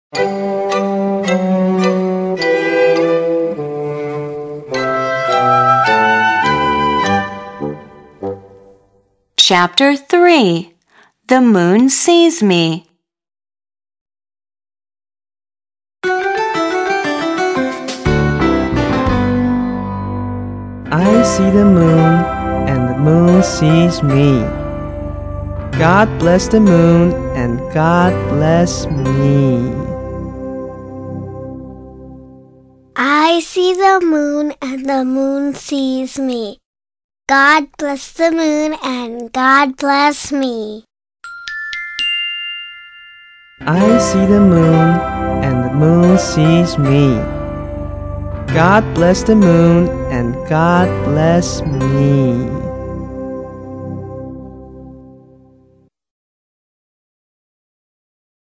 Chapter 3. The Moon Sees Me. I see the moon, and the moon sees me. God bless the moon, and God bless me. I see the moon, and the moon sees me. God bless the moon, and God bless me. I see the moon, and the moon sees me. God bless the moon, and God bless me.